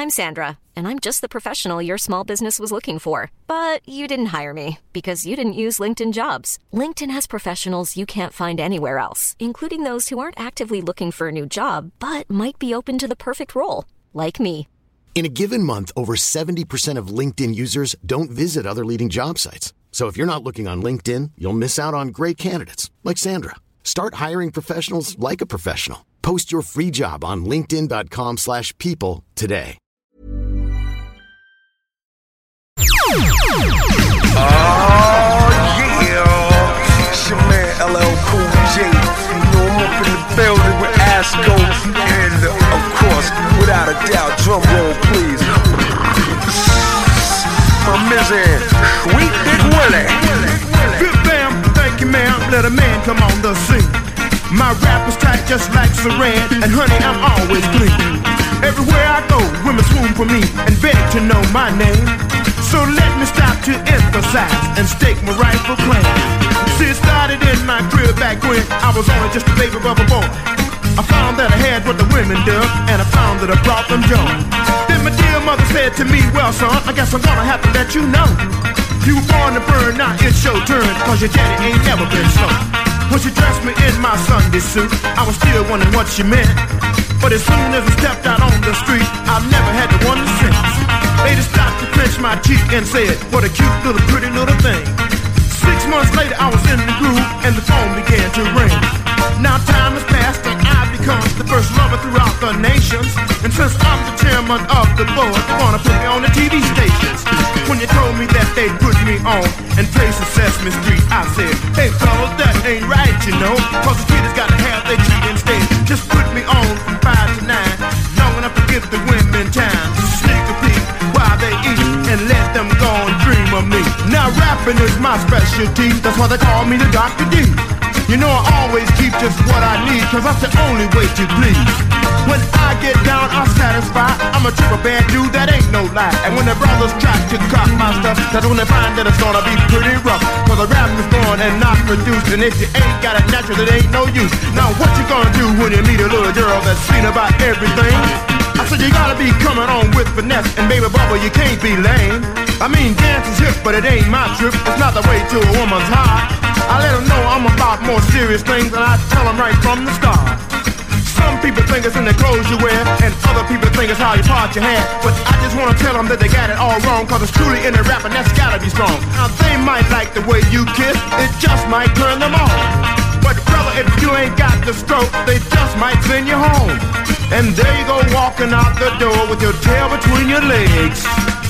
I'm Sandra, and I'm just the professional your small business was looking for. But you didn't hire me because you didn't use LinkedIn Jobs. LinkedIn has professionals you can't find anywhere else, including those who aren't actively looking for a new job, but might be open to the perfect role, like me. In a given month, over 70% of LinkedIn users don't visit other leading job sites. So if you're not looking on LinkedIn, you'll miss out on great candidates like Sandra. Start hiring professionals like a professional. Post your free job on linkedin.com/people today. Oh yeah, it's your man LL Cool J. You know I'm up in the building with Asco, and of course, without a doubt, drum roll please. My Mizzy, Sweet Big Willie. Bam, thank you ma'am, let a man come on the scene. My rap is tight just like Saran, and honey, I'm always clean. Everywhere I go, women swoon for me and beg to know my name. So let me stop to emphasize and stake my rightful claim. See, it started in my crib back when I was only just a baby rubber boy. I found that I had what the women dug, and I found that I brought them joy. Then my dear mother said to me, well son, I guess I'm gonna have to let you know. You were born to burn, now it's your turn, cause your daddy ain't never been slow. When she dressed me in my Sunday suit, I was still wondering what she meant. But as soon as I stepped out on the street, I never had to wonder since. Lady stopped to pinch my cheek and said, what a cute little pretty little thing. 6 months later I was in the groove and the phone began to ring. Now time has passed and I've become the first lover throughout the nations. And since I'm the chairman of the board, they wanna put me on the TV stations. When you told me that they'd put me on and place in Sesame Street, I said, hey fellas, that ain't right, you know. Cause the kid has gotta have their treat instead. Just put me on from 5 to 9, long enough to give the women time to sneak a peek while they eat and let them go and dream of me. Now rapping is my specialty, that's why they call me the Dr. D. You know I always keep just what I need, cause that's the only way to please. When I get down, I'm satisfied. I'm a triple bad dude, that ain't no lie. And when the brothers try to cop my stuff, that's when they find that it's gonna be pretty rough. Cause the rap is born and not produced, and if you ain't got it natural, it ain't no use. Now what you gonna do when you meet a little girl that's seen about everything? I said you gotta be coming on with finesse, and baby bubba, you can't be lame. I mean, dance is hip, but it ain't my trip. It's not the way to a woman's heart. I let them know I'm about more serious things, and I tell them right from the start. Some people think it's in the clothes you wear, and other people think it's how you part your hair. But I just wanna tell them that they got it all wrong, cause it's truly in the rap, and that's gotta be strong. Now they might like the way you kiss, it just might turn them on. But brother, if you ain't got the stroke, they just might send you home. And there you go walking out the door with your tail between your legs.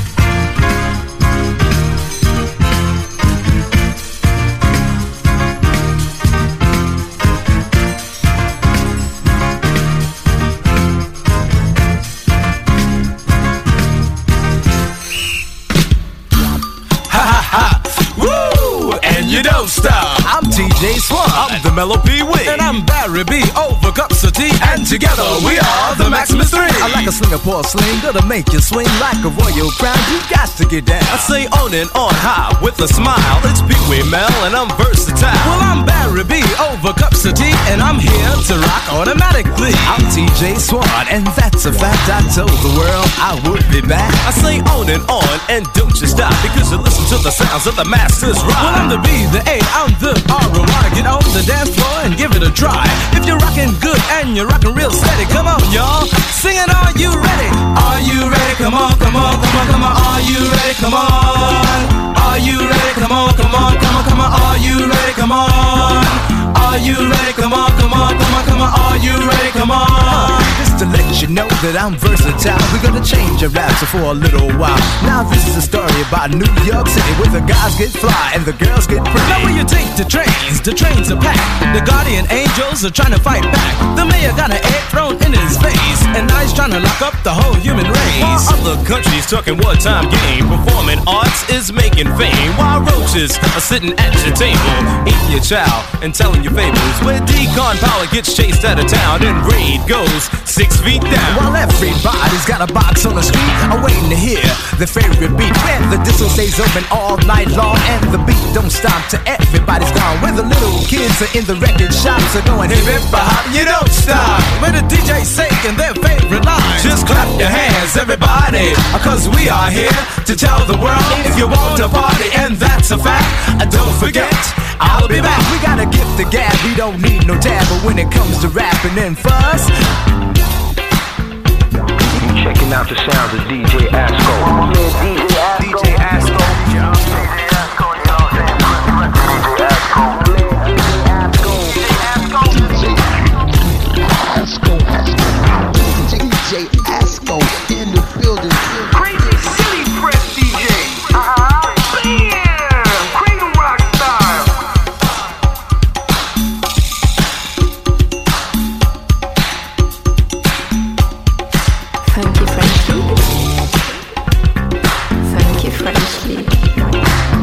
You don't stop. I'm TJ Swan. I'm the Mellow P. Wig. And I'm Barry B. Over cups of tea. And together we are the Maximus 3. I like a Singapore sling that'll make you swing like a royal crown. You got to get down. I say on and on high with a smile. It's Pee Wee Mel and I'm versatile. Well, I'm Barry B. Over cups of tea. And I'm here to rock automatically. I'm TJ Swan. And that's a fact. I told the world I would be back. I say on and don't you stop. Because you listen to the sounds of the masters rock. Well, I'm the B. The A, I'm the R. Wanna get on the dance floor and give it a try. If you're rocking good and you're rocking real steady, come on, y'all. Sing it, are you ready? Are you ready? Come on, come on, come on, come on. Are you ready? Come on. Are you ready? Come on, come on, come on, come on. Are you ready? Come on. Are you ready? Come on, come on, come on, come on. Are you ready? Come on. Just to let you know that I'm versatile, we're gonna change your rap for a little while. Now this is a story about New York City, where the guys get fly and the girls get pretty. Now when you take the trains are packed. The guardian angels are trying to fight back. The mayor got an egg thrown in his face, and now he's trying to lock up the whole human race. While other countries talking wartime game, performing arts is making fame. While roaches are sitting at your table, eating your chow and telling your fables. Where decon power gets chased out of town and raid goes 6 6 feet down. While everybody's got a box on the street, I'm waiting to hear their favorite beat. Where the disco stays open all night long and the beat don't stop till everybody's gone. Where the little kids are in the record shops are going hip hip hop, you don't stop. Where the DJ's singing their favorite lines, just clap your hands, everybody, cause we are here to tell the world if you want to party, and that's a fact. Don't forget, I'll be back. We got a gift to gab, we don't need no tab, but when it comes to rapping and fuss, Checking out the sounds of DJ Asco. DJ Asco. DJ Asco in the building. Crazy City Press DJ. Bam! Cradle Rock style. Funky French League. Funky French League.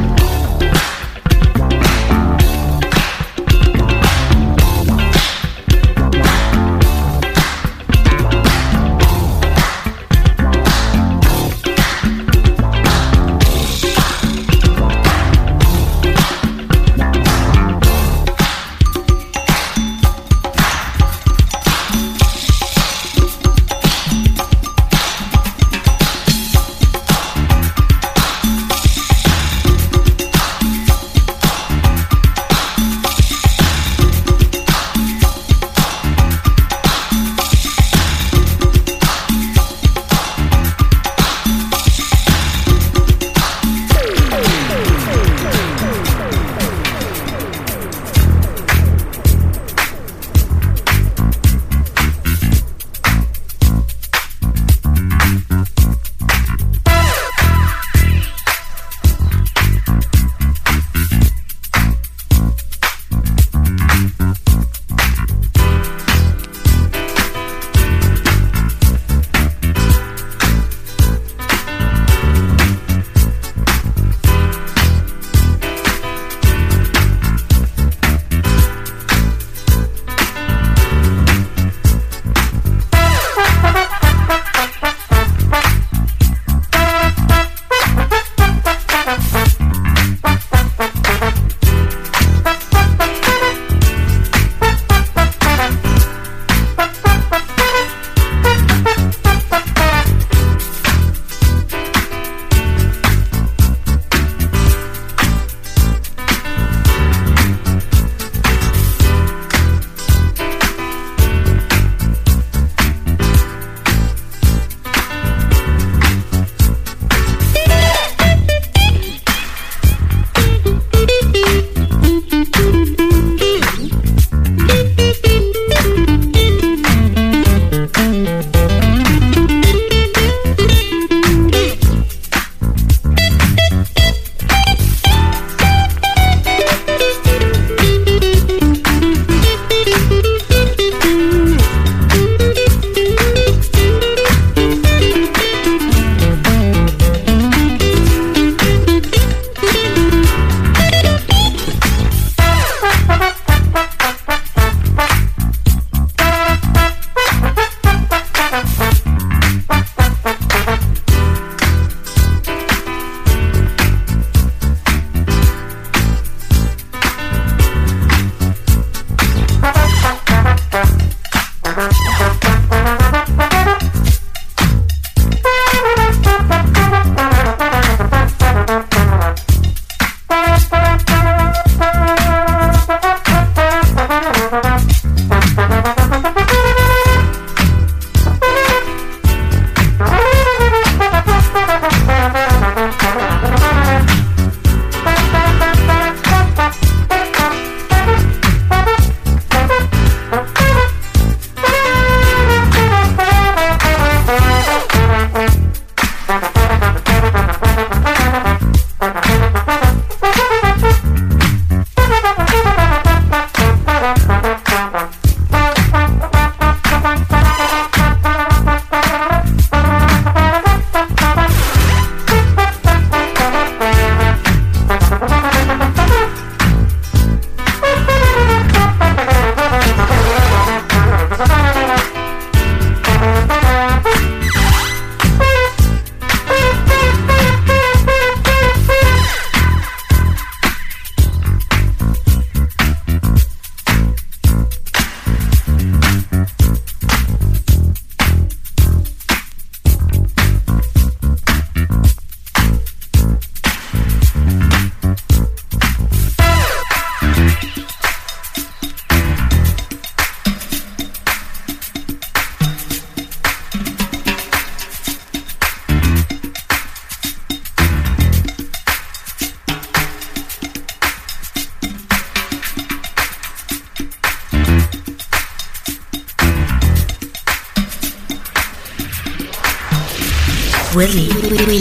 Willie.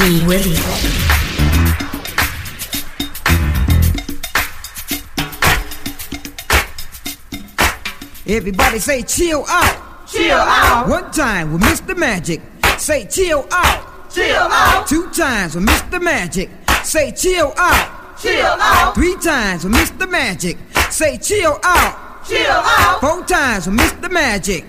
Everybody say chill out. Chill out. One time with Mr. Magic. Say chill out. Chill out. 2 times with Mr. Magic. Say chill out. Chill out. 3 times with Mr. Magic. Say chill out. Chill out. 4 times with Mr. Magic.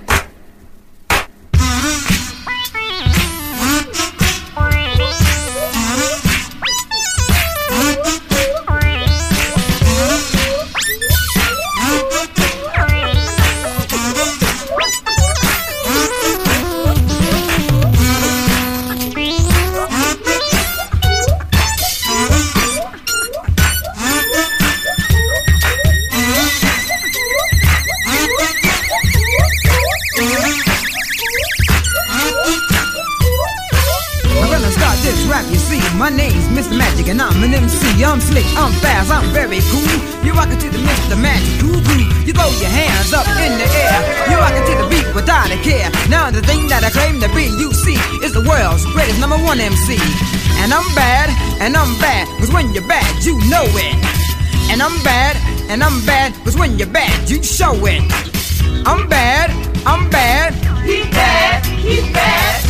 My name's Mr. Magic and I'm an MC. I'm slick, I'm fast, I'm very cool. You rockin' to the Mr. Magic groove. You throw your hands up in the air. You rockin' to the beat without a care. Now the thing that I claim to be, you see, is the world's greatest #1 MC. And I'm bad, cause when you're bad, you know it. And I'm bad, cause when you're bad, you show it. I'm bad, he's bad, he's bad.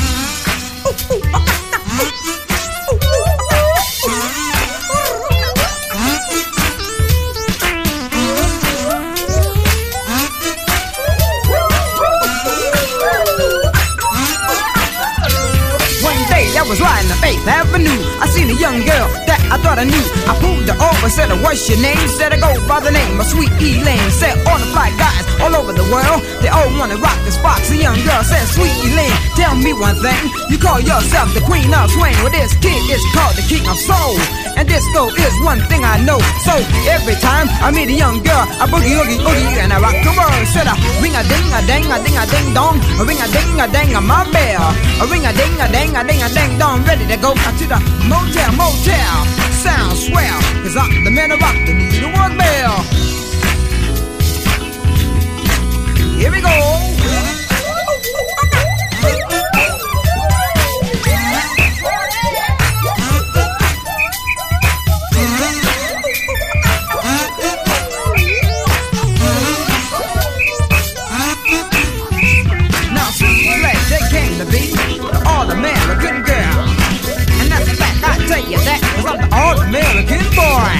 I was riding up 8th Avenue. I seen a young girl that I thought I knew. I pulled her over, said, what's your name? Said, I go by the name of Sweet Elaine. Said, all the fly guys all over the world, they all wanna rock the spots. The young girl said, Sweet Elaine, tell me one thing. You call yourself the queen of swing. Well, this kid is called the king of soul. And disco is one thing I know. So every time I meet a young girl, I boogie, oogie, oogie, and I rock the world. Said, ring a ding, a ding, a ding, a ding dong. A ring a ding, a ding, a my bell. A ring a ding, a ding, a ding, a ding dong. Ready to go to the motel. Sound swell, cause I'm the man of rock, the needlework bell. Here we go. Now, they came to be all American girl. And that's a fact, I tell you that, cause I'm the all-American boy.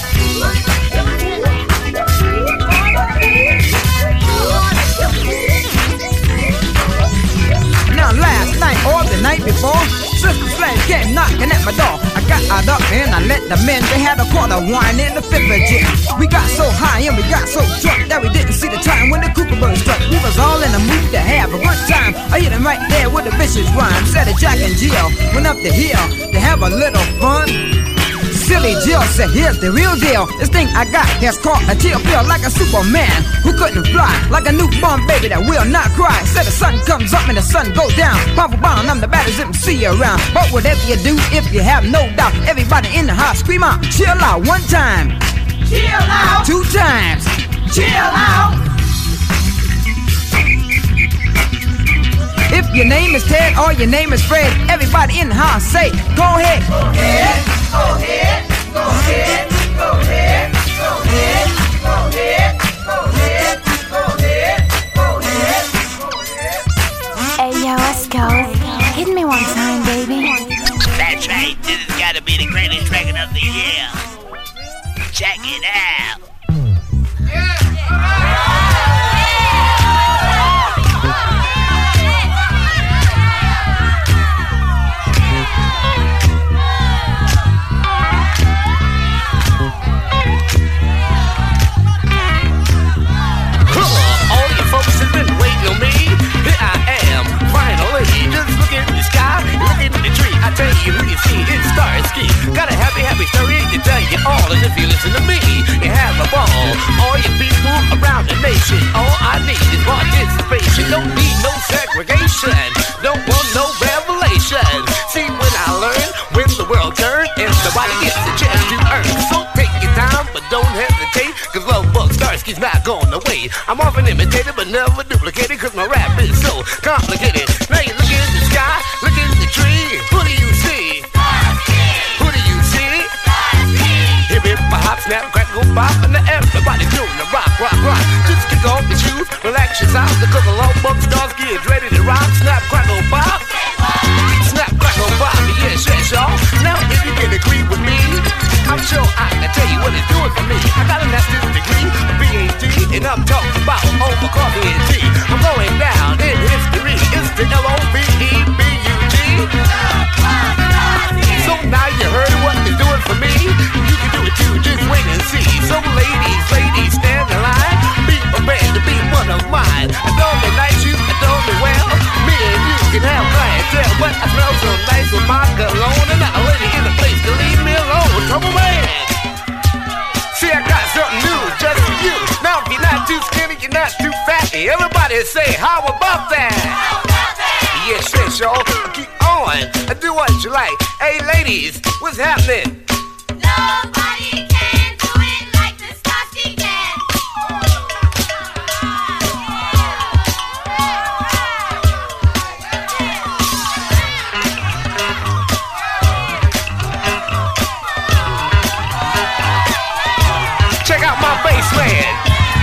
Now last night or the night before, Sister Sledge came knocking at my door. I got out up and I let them in. They had a quarter wine in the 5th of gin. We got so high and we got so drunk that we didn't see the time when the Kookaburra struck. We was all in the mood to have a good time. I hit him right there with a vicious rhyme. Said that Jack and Jill went up the hill to have a little fun. Silly Jill said, here's the real deal. This thing I got has caught a chill. Feel like a Superman who couldn't fly. Like a newborn baby that will not cry. Said the sun comes up and the sun goes down. Papa Brown, I'm the baddest MC around. But whatever you do, if you have no doubt, everybody in the house scream out, chill out 1 time. Chill out. 2 times. Chill out. If your name is Ted or your name is Fred, everybody in the house say, go ahead. Go ahead. Go ahead. Go ahead. Go ahead. Go ahead. Go ahead. Go ahead. Go ahead. Go ahead. Go ahead. Hey yo, let's go. Hit me 1 time, baby. That's right. This has got to be the greatest record of the year. Check it out. Got a happy story to tell you all, and if you listen to me, you have a ball. All you people around the nation, all I need is participation. Don't need no segregation, don't want no revelation. See when I learn, when the world turns, everybody gets a chance to earn. So take your time, but don't hesitate, cause Love Bug Starsky's not going away. I'm often imitated, but never duplicated, cause my rap is so complicated. Now you look in the sky, look in the tree, what do you kids ready to rock, snap, crackle, pop. Snap, crackle, pop, yes, yes, y'all. Now if you can agree with me, I'm sure I can tell you what it's doing for me. I got a master's degree, a PhD, and I'm talking about over coffee and tea. I'm going down in history. It's the L-O-V-E-B-U-G. So now you heard what it's doing for me. You can do it too, just wait and see. So ladies, stand in line. Be prepared to be one of mine. I don't be nice, you adore me well. Me and you can have clientele, but I smell so nice with my cologne. And not a lady in the place to leave me alone. Trouble man. See, I got something new just for you. Now if you're not too skinny, you're not too fatty. Everybody say, how about that? Yes, yes, y'all. Keep on. Do what you like. Hey, ladies, what's happening? Nobody can do it like the Starsky can. Check out my bass man.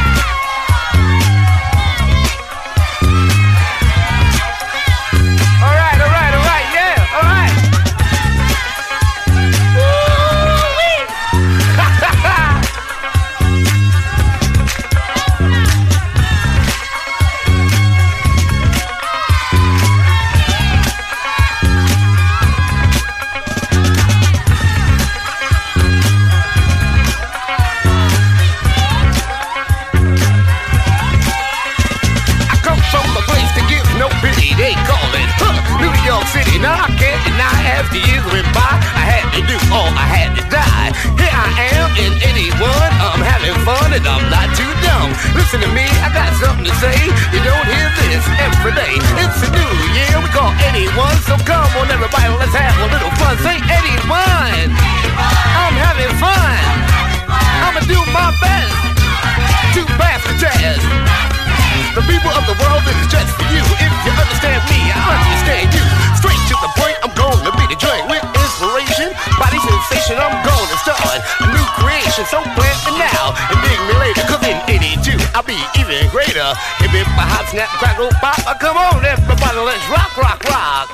Now I can't deny after years went by, I had to do all I had to die. Here I am in 81, I'm having fun and I'm not too dumb. Listen to me, I got something to say. You don't hear this every day. It's a new year, we call 81. So come on everybody, let's have a little fun. Say 81. I'm having fun. I'ma do my best to pass the test. The people of the world, this is just for you. If you understand me, I understand you. Straight to the point, I'm going to be the joint with inspiration, body sensation. I'm going to start a new creation. So plant me now and dig me later. Cause in 82, I'll be even greater. If it a hot snap, crackle, pop, come on everybody, let's rock, rock, rock.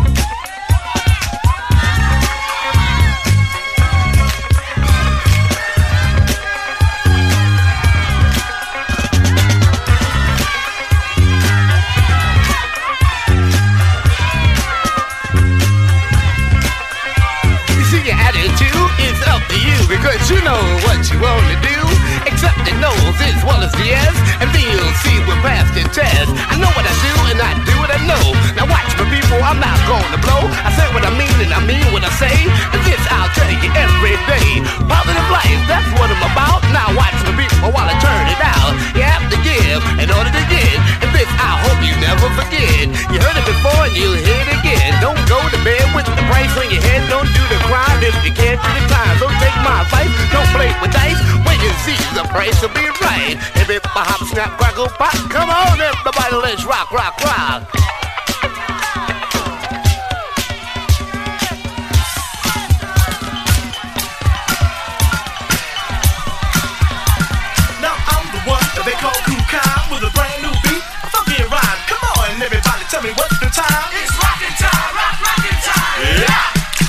Your attitude is up to you, because you know what you want to do. Accept the no's as well as the yes, and then you'll see we're past the test. I know what I do and I do what I know. Now watch my people, I'm not going to blow. I say what I mean and I mean what I say. And this I'll tell you every day. Positive life, that's what I'm about. Now watch my people while I turn it out. You have to give in order to get. And this I hope you never forget. You heard it before and you'll hear it again. Don't go to bed with the price on your head. Don't do the crime if you can't do the time. Don't take my advice, don't play with dice. Wait and see, the price will be right. If it hop, snap, crackle, pop, come on everybody, let's rock, rock, rock. Now I'm the one that they call Kool Kai with a brand new beat, a funky rhyme. Come on everybody, tell me what's the time. It's rockin' time, rockin' time. Yeah.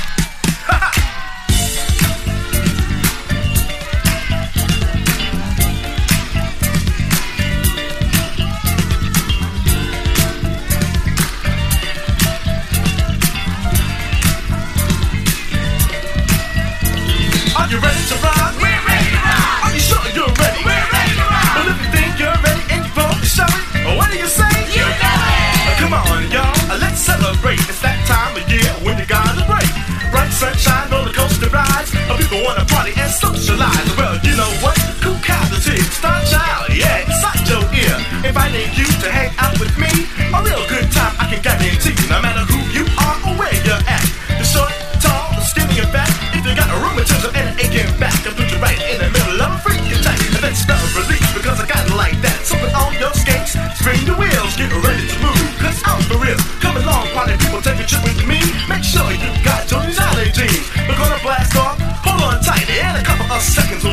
Are you ready to rock? We're ready to rock. Are you sure you're ready? We're ready to rock. Well, if you think you're ready and you're going to show it, what do you say? You know it. Come on, y'all, let's celebrate. It's that time of year when you gotta break. Bright sunshine, roller coaster rides. People wanna party and socialize. Well, you know what? Kool Kai is here. Star Child, yeah, inside your ear. Inviting you to hang out with me. A real good time, I can guarantee. No matter who you are or where you're at. The short, tall, the skinny, and fat. If you got a rheumatism and an aching back, I'll put you right in the middle of a freaking attack. And then start release because I got it like that. So put on your skates, spin the wheels, get ready to move. Cause I'm for real. Come along, party people, take a trip with me. Make sure you got Tony's Alley jeans. We're gonna blast off, hold on tight, in a couple of seconds.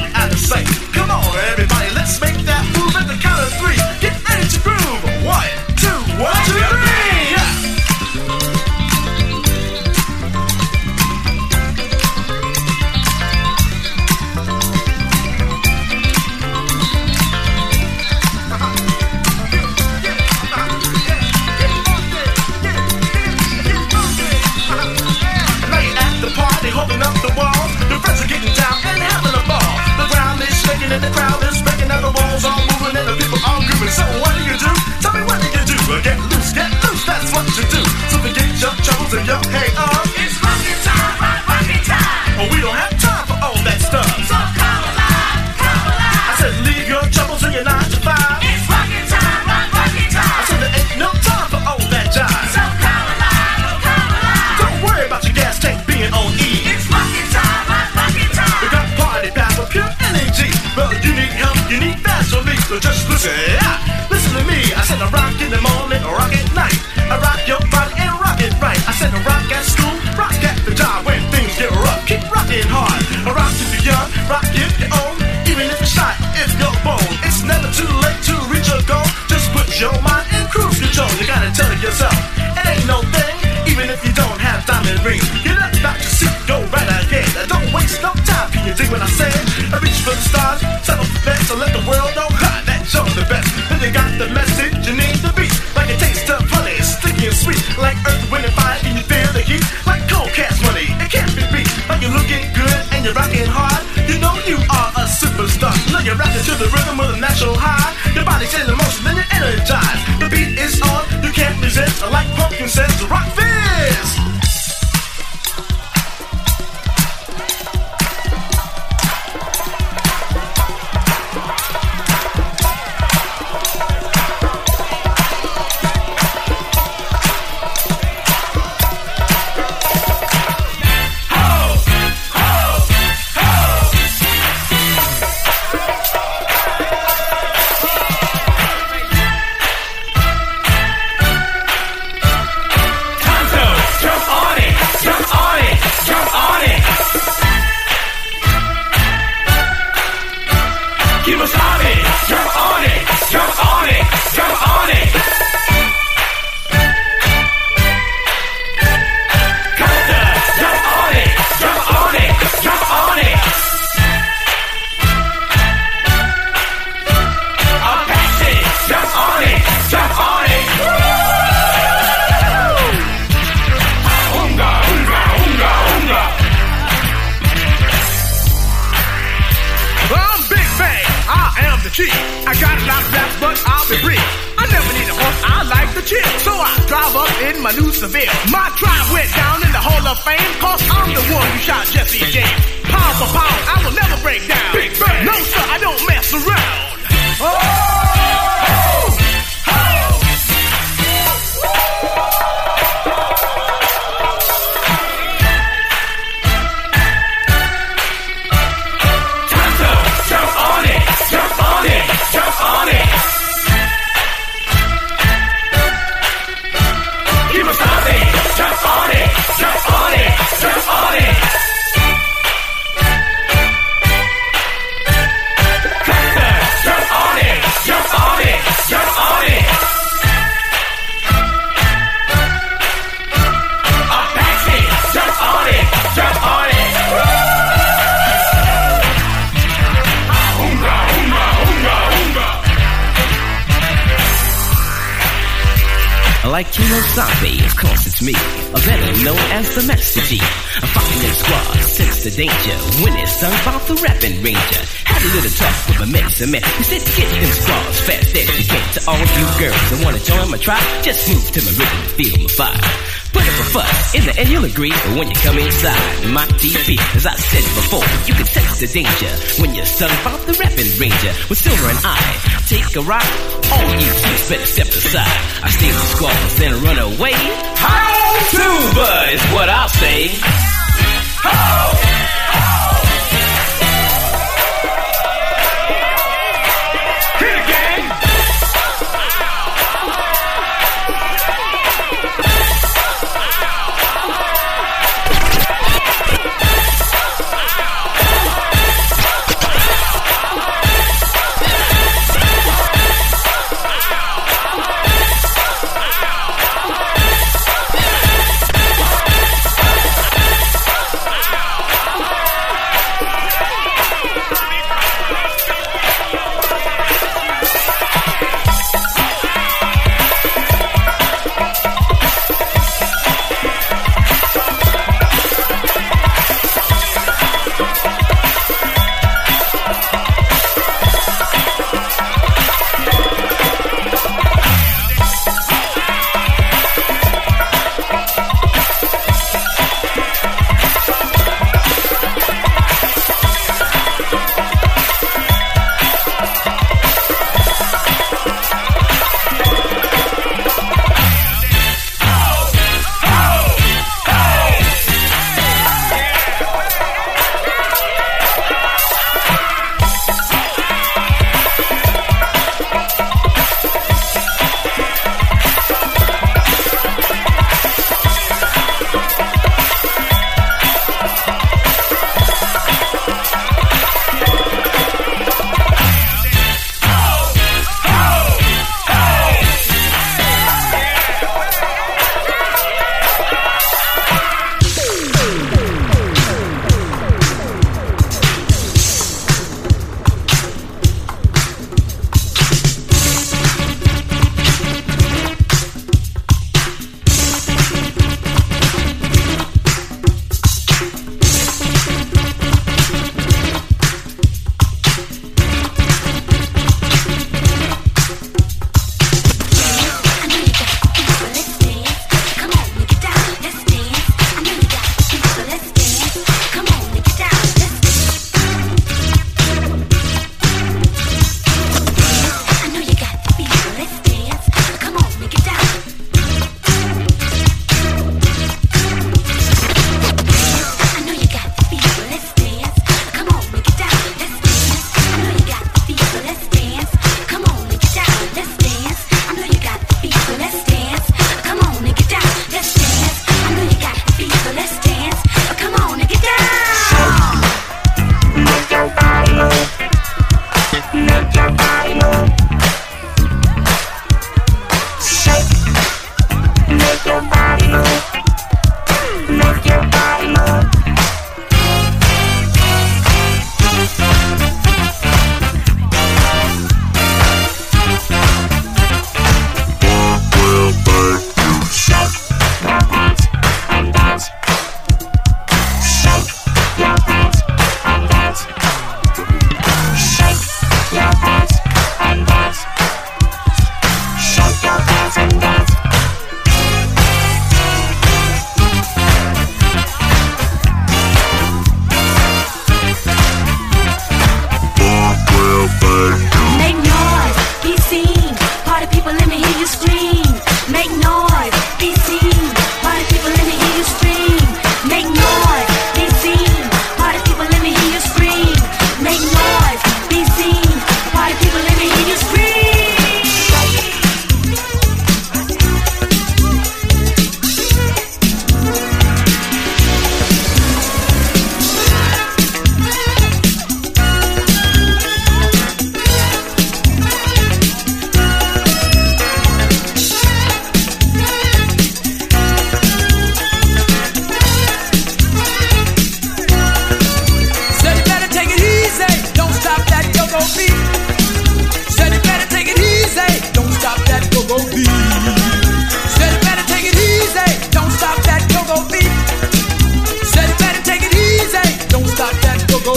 holding up the wall. The friends are getting down and having a ball. The ground is shaking and the crowd is breaking and the walls are moving and the people are grooving. So what do you do? Tell me what do you do? Get loose, that's what you do. So forget your troubles and your hang up. It's rockin' time, rockin' time. But we don't have time for all that stuff. So come alive, come alive. I said leave your troubles in your 9 to 5. It's rockin' time, rockin' time. I said there ain't no time for all that jive. So come alive, come alive. Don't worry about your gas tank being on E. It's rockin' time, rockin' time. We got party power, pure energy. Well, you need help, you need fast relief. So just listen, listen to me. I said I rock in the morning, I rock at night. I rock your body and rock it right. I said I rock at school, rock at the job. When things get rough, keep rocking hard. I rock if you're young, rock if you're old. Even if you're shy, if you're bold. It's never too late to reach your goal. Just put your mind in cruise control. You gotta tell yourself, it ain't no thing. Even if you don't have diamond rings. Get up out your seat, go right ahead. Don't waste no time, can you dig what I said? I reach for the stars, settle for best. So let the world know how that you're the best. Then you got the message, you need the beat. Like it tastes of honey, it's sticky and sweet. Like earth, wind, and fire, can you feel the heat? Like cold cash money, it can't be beat. Like you're looking good and you're rocking hard. You know you are a superstar. Look, you're rocking to the rhythm with a natural high. Your body's in motion, then you're energized. The beat is on, you can't resist. Like Pumpkin says, rock fizz. I got a lot of raps, but I'll be brief. I never need a horse, I like to chill. So I drive up in my new Seville. My tribe went down in the Hall of Fame, cause I'm the one who shot Jesse James. Pound for pound, I will never break down. Big bang. No sir, I don't mess around. Oh! Like Kilo Zombie, of course it's me, or better known as the Master G. I'm fucking in squad, sense the danger, when it's sung about the rapping ranger. Had a little talk with my mates and man, we said get them squads fast as you can. To all you girls that wanna join my tribe, just move to my rhythm and feel my fire. Put up a fuss, in the end you'll agree, but when you come inside my TV, as I said before, you can sense the danger when you're sung about the rapping ranger. With Silver and I take a ride, all you kids better step aside. I steal the squads, then run away. How Tuba is what I'll say. How?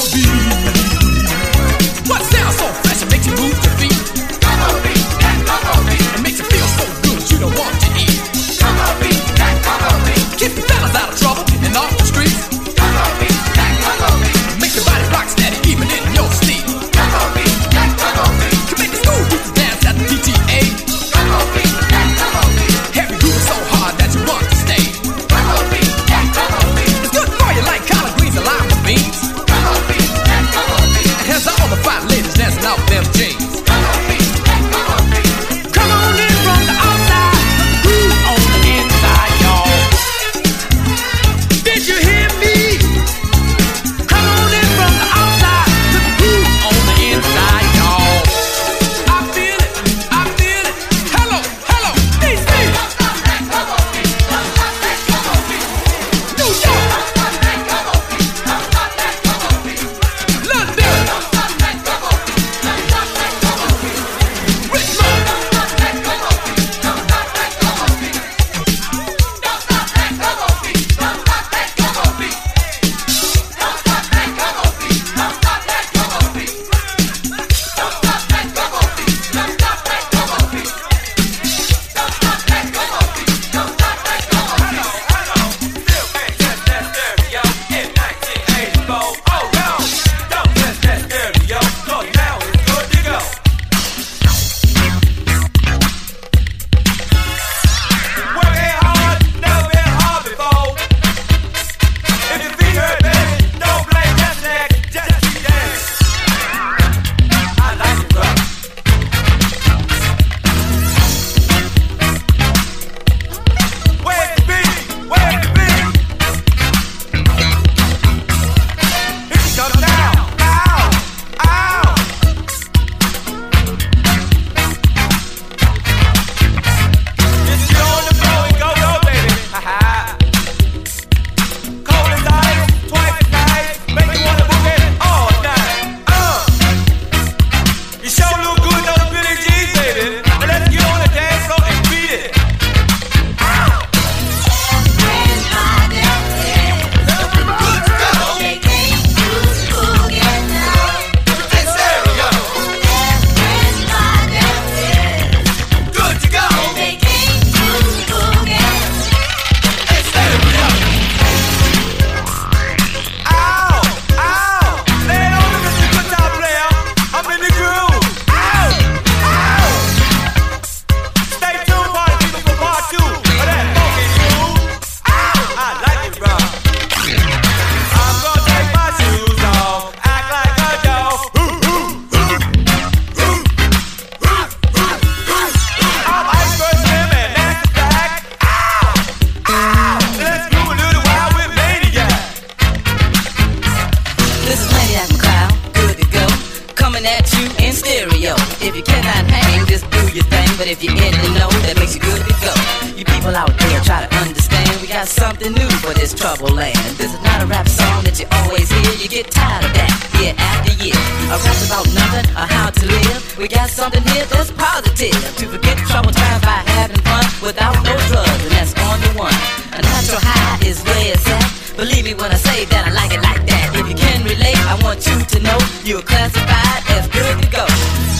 if you're in the know, that makes you good to go. You people out there try to understand, we got something new for this troubled land. This is not a rap song that you always hear, you get tired of that year after year. A rap's about nothing or how to live. We got something here that's positive, to forget troubled times by having fun without no drugs, and that's on the one. A natural high is where it's at. Believe me when I say that I like it like that. If you can relate, I want you to know you're classified as good to go.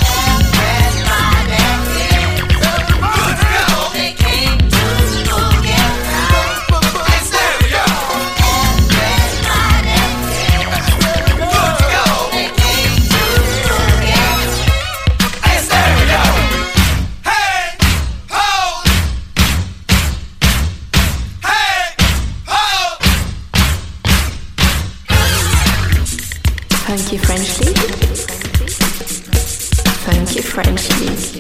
Funky Frenchly. Funky Frenchly.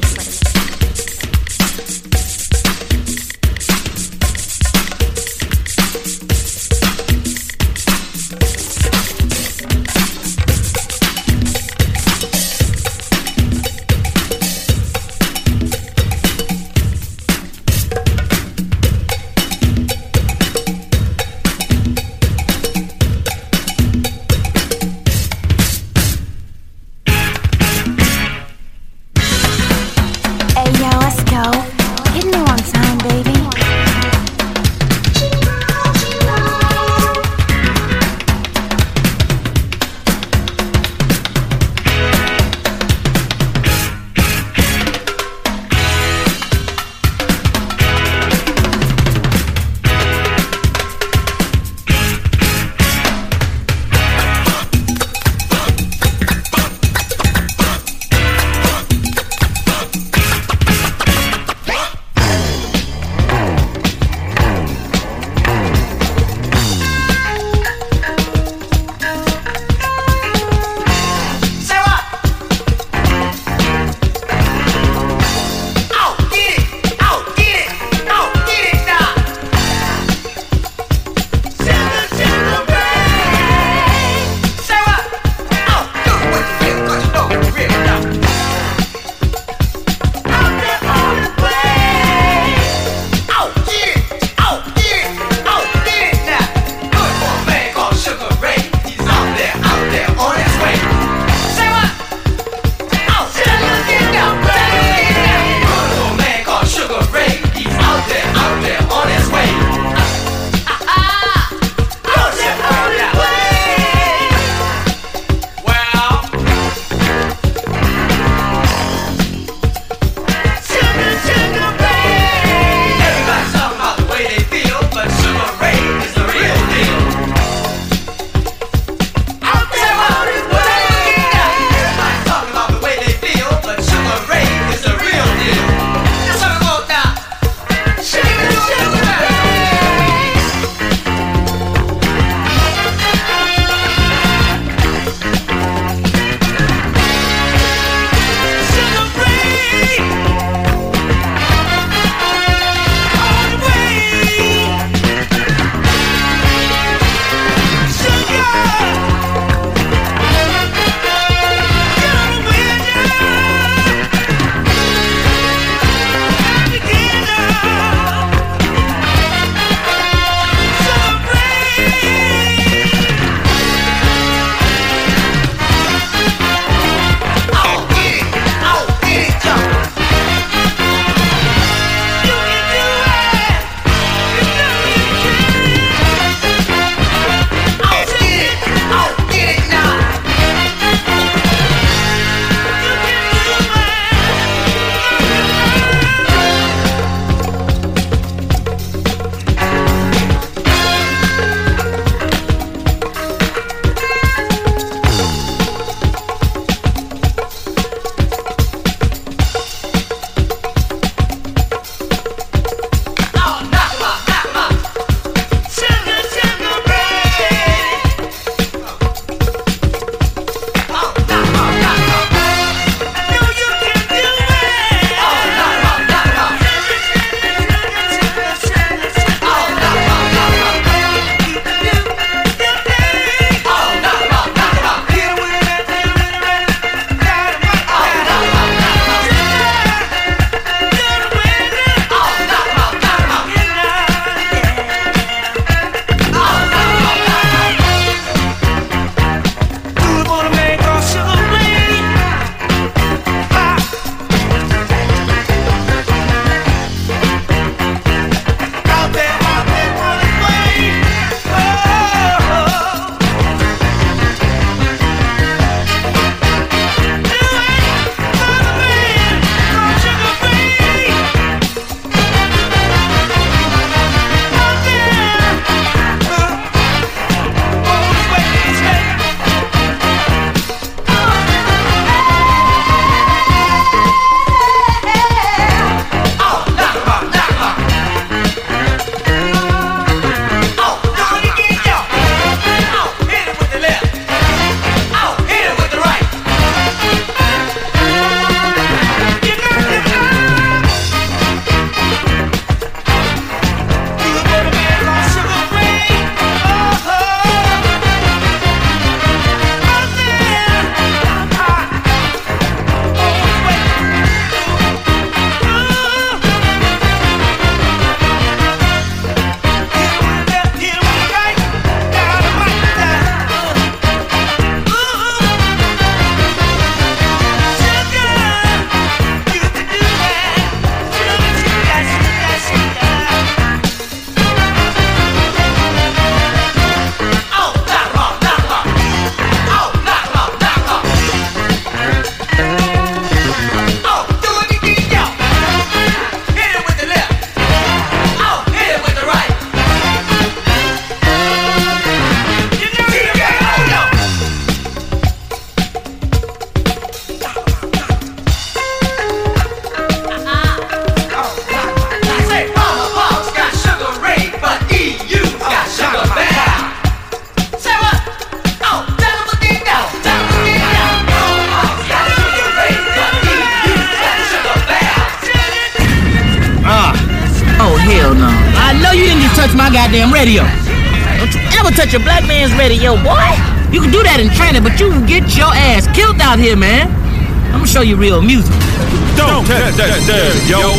goddamn radio. Don't you ever touch a black man's radio, boy. You can do that in training, but you can get your ass killed out here, man. I'm gonna show you real music. Don't touch that there, yo.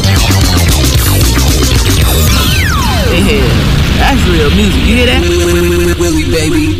Yeah, that's real music. You hear that? Willie, baby.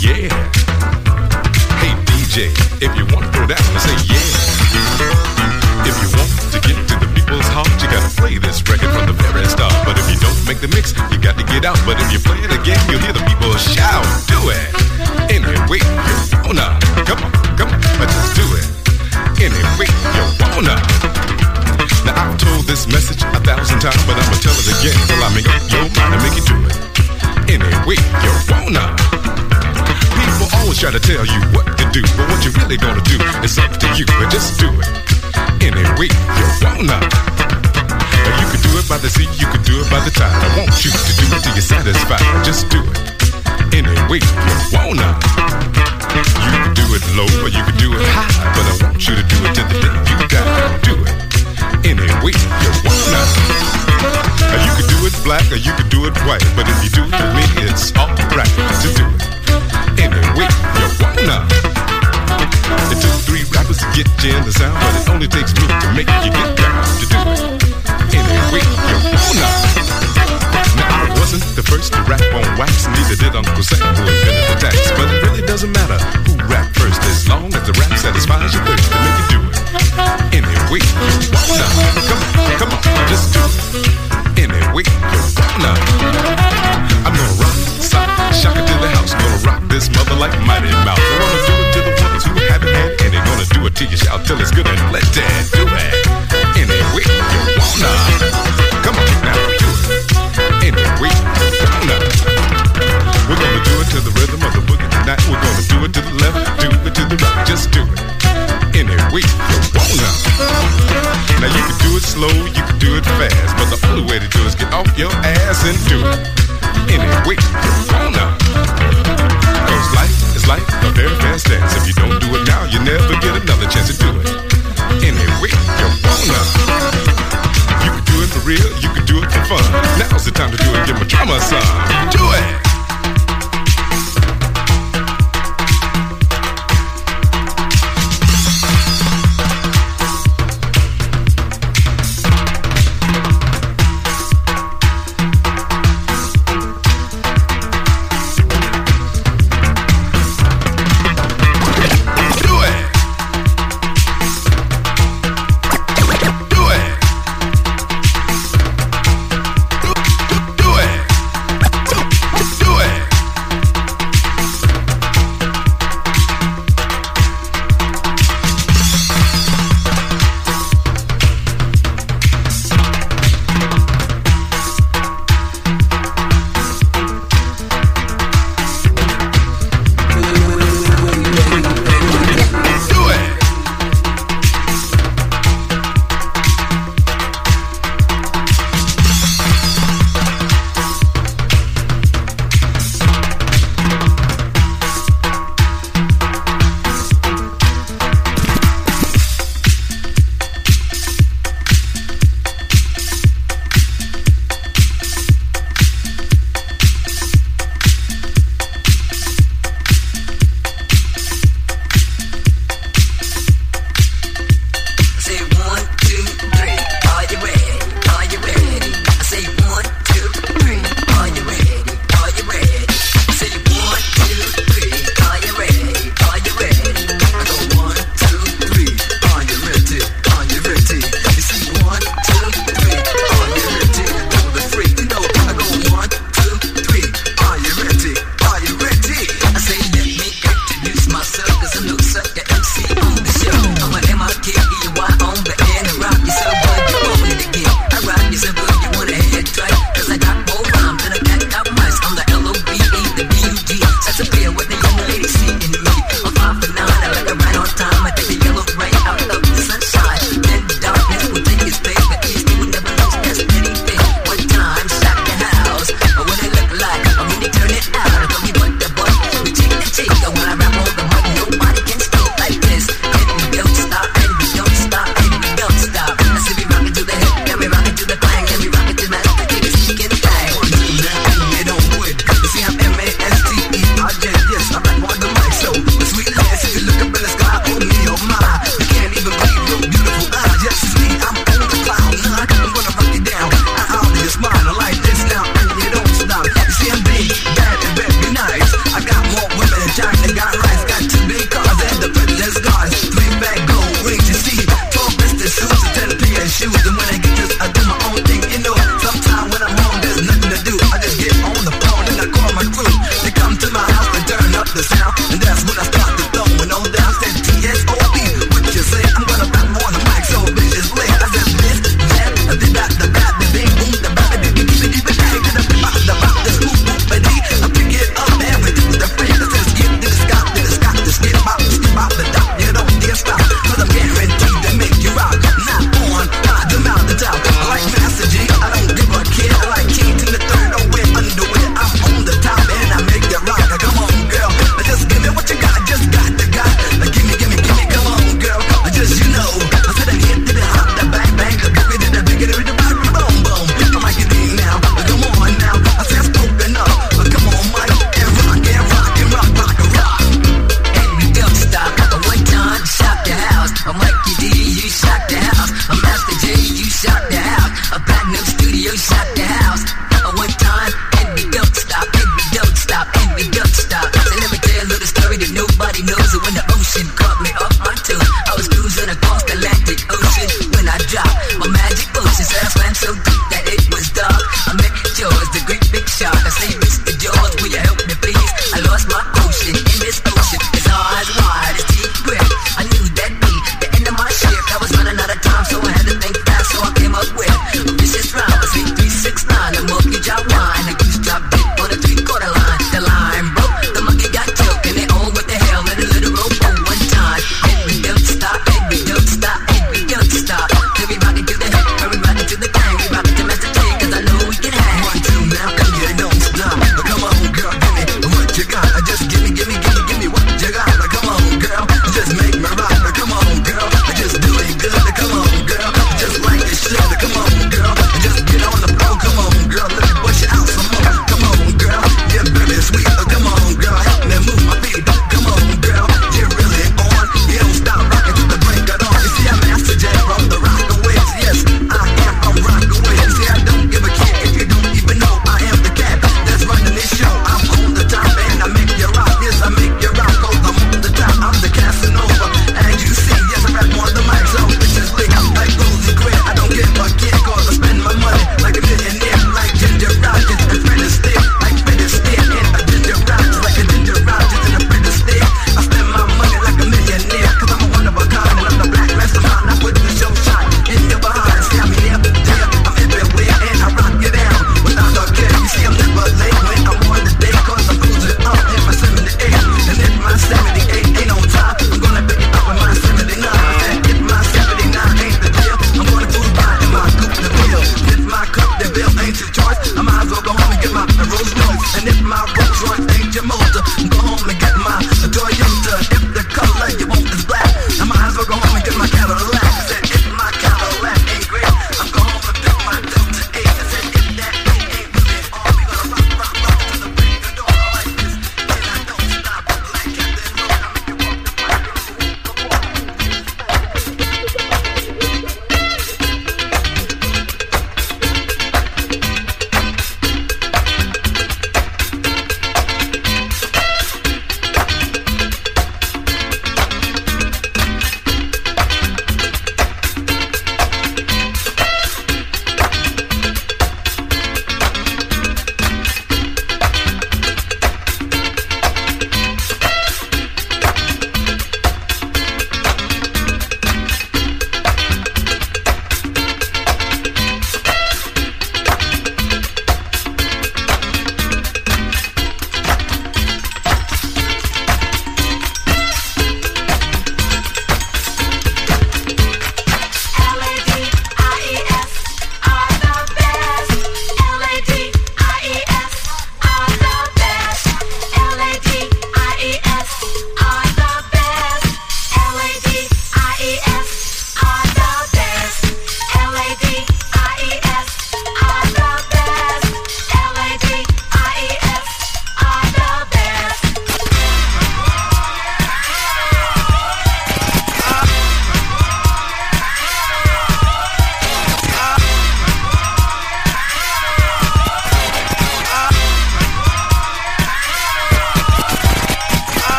yeah. Hey DJ, if you want to throw down, say yeah. If you want to get to the people's heart, you gotta play this record from the very start. But if you don't make the mix, you got to get out. But if you play it again, you'll hear the people shout. Do it. Anyway, you wanna. Come on, but just do it. Anyway, you wanna. Now I've told this message 1,000 times, but I'ma tell it again till I make up your mind and make you do it. Anyway, you wanna. People always try to tell you what to do, but what you really gonna do is up to you. But just do it. Anyway, you wanna. Now you can do it by the sea, you can do it by the tide. I want you to do it till you're satisfied. Just do it. Anyway, you wanna. You can do it low or you can do it high, but I want you to do it till the day you die. Do it. Anyway, you wanna. Now you can do it black or you can do it white, but if you do it with me, it's alright to do it. Anyway, you wanna. It took 3 rappers to get you in the sound, but it only takes me to make you get down to do it. Anyway, you wanna. Now I wasn't the first to rap on wax, neither did Uncle Sam who invented the tax. But it really doesn't matter who rapped first, as long as the rap satisfies your thirst to make you do it. Anyway, you wanna. Come on, just do it. Anyway, you wanna. I'm gonna rock, sock, shock it to the house. Gonna rock this mother like Mighty Mouse. I wanna do it to the ones who haven't had, and they're gonna do it till you shout till it's good and let that do it. Anyway, you wanna. Come on now, do it. Anyway, you wanna. We're gonna do it to the rhythm of the boogie tonight. We're gonna do it to the left, do it to the right. Just do it. Anyway, you wanna. Now you can do it slow, you can do it fast, but the only way to do it is get off your ass and do it. Anyway, you wanna. Cause life is like a very fast dance. If you don't do it now, you never get another chance to do it. Anyway, you wanna. You can do it for real, you can do it for fun. Now's the time to do it, give my drama a song. Do it!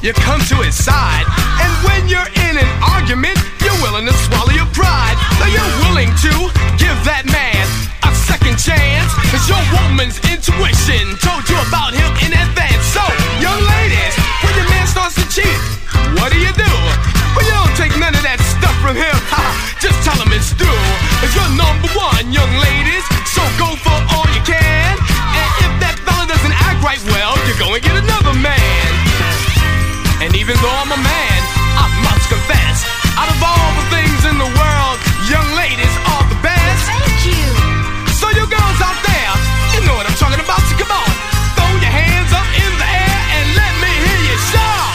you come to his side. And when you're in an argument, you're willing to swallow your pride. So you're willing to give that man a second chance. Cause your woman's intuition told you about him in advance. So, young ladies, when your man starts to cheat, what do? Well, you don't take none of that stuff from him. Just tell him it's through. Cause you're number one, young ladies. So go for all you can. And if that fella doesn't act right, well, you're gonna get another man. And even though I'm a man, I must confess, out of all the things in the world, young ladies are the best. Thank you. So you girls out there, you know what I'm talking about, so come on. Throw your hands up in the air and let me hear you shout.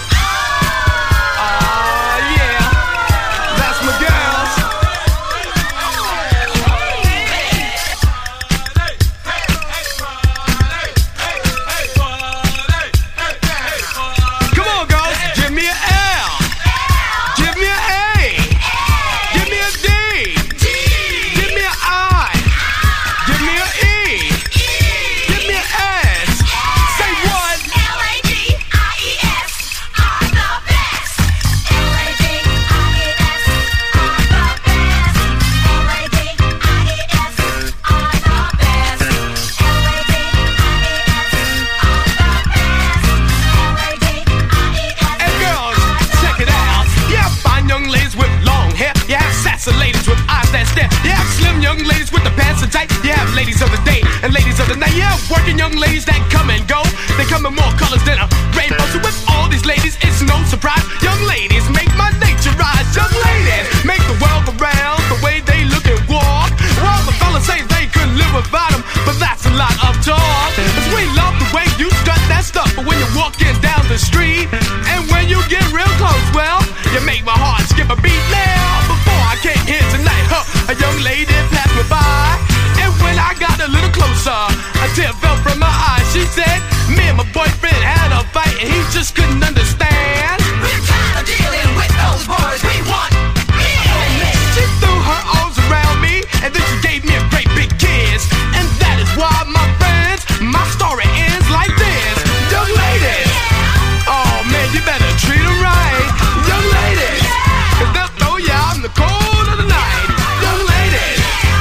Ladies of the day and ladies of the night, yeah, working young ladies that come and go. They come in more colors than a rainbow. So with all these ladies, it's no surprise. Young ladies make my nature rise. Young ladies make the world go round the way they look and walk. Well, the fellas say they couldn't live without them, but that's a lot of talk. Cause we love the way you strut that stuff, but when you're walking down the street and when you get real close, well, you make my heart skip a beat. Now, before I came here tonight, a young lady passed me by. And when I got a little closer, a tear fell from my eye. She said, me and my boyfriend had a fight and he just couldn't understand. We're tired of dealing with those boys, we want me. She threw her arms around me and then she gave me a great big kiss. And that is why, my friends, my story ends like this. Young ladies, oh man, you better treat her right. Young ladies, cause they'll throw you out in the cold of the night. Young ladies,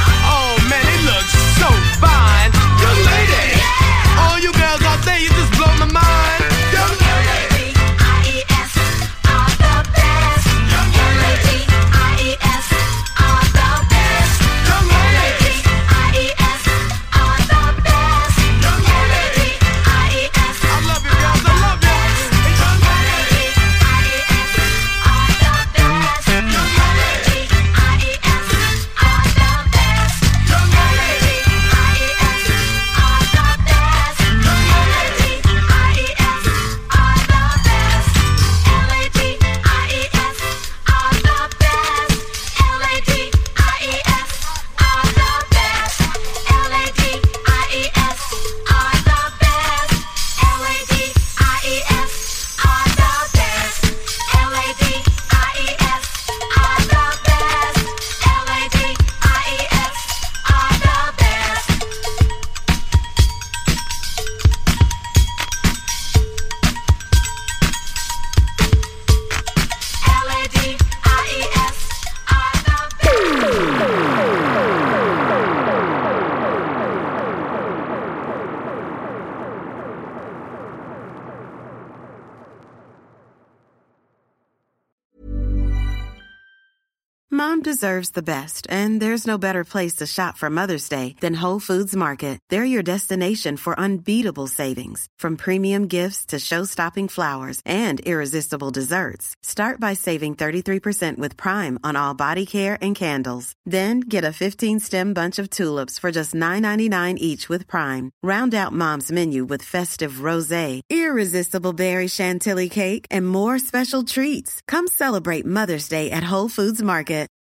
so fine, young lady. All you girls out there, you just blow my mind, young lady. IES are the best. Young lady, IES are the best. Young lady, IES are the best. Young lady, IES. I love you girls, I love you. Young lady, IES are the best. Young lady, IES are the best. Young lady. Mom deserves the best, and there's no better place to shop for Mother's Day than Whole Foods Market. They're your destination for unbeatable savings, from premium gifts to show-stopping flowers and irresistible desserts. Start by saving 33% with Prime on all body care and candles. Then get a 15-stem bunch of tulips for just $9.99 each with Prime. Round out Mom's menu with festive rosé, irresistible berry chantilly cake, and more special treats. Come celebrate Mother's Day at Whole Foods Market.